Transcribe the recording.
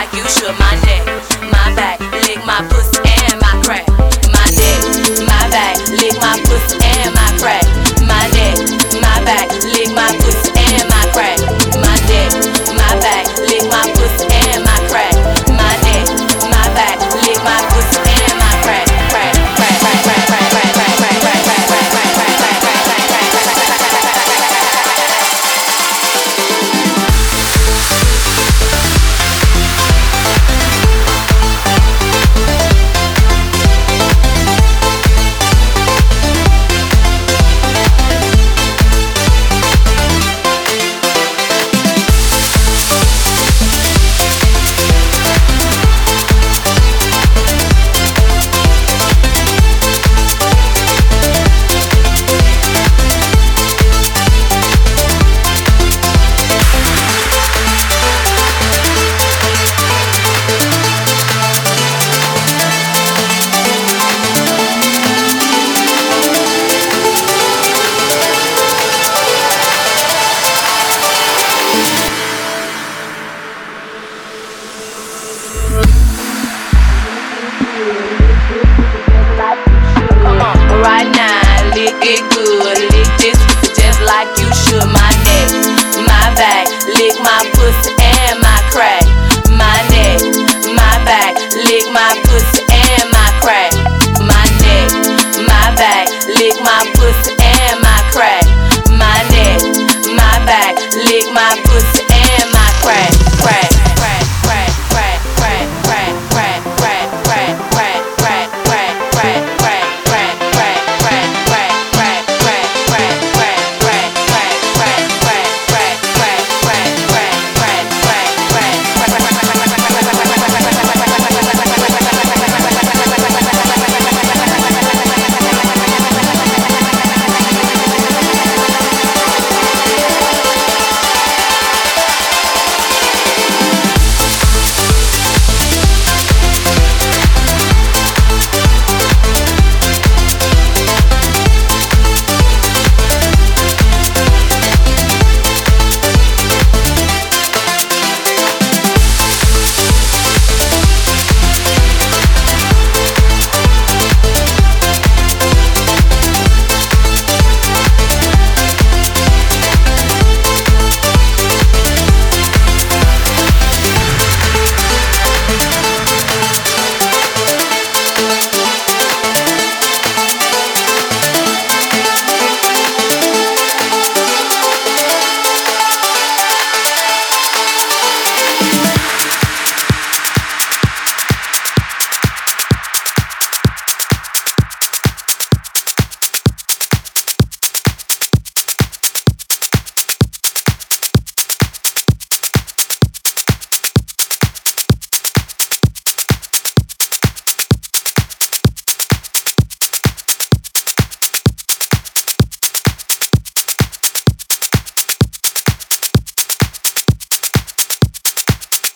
like you should. My neck, my back, lick my pussy and my crack. My neck, my back, lick my pussy and my crack. My neck, my back, lick my pussy and my crack. My neck, my back, lick my pussy and my crack. My neck, my back, lick my pussy and my crack. Crack, crack, crack, crack, crack, crack, crack, crack, crack, crack, crack, crack, crack, crack, crack, crack. Right now, lick it good, lick this pussy just like you should. My neck, my back, lick my pussy and my crack. My neck, my back, lick my pussy and my crack. My neck, my back, lick my pussy and my crack. My neck, my back, lick my pussy and my crack.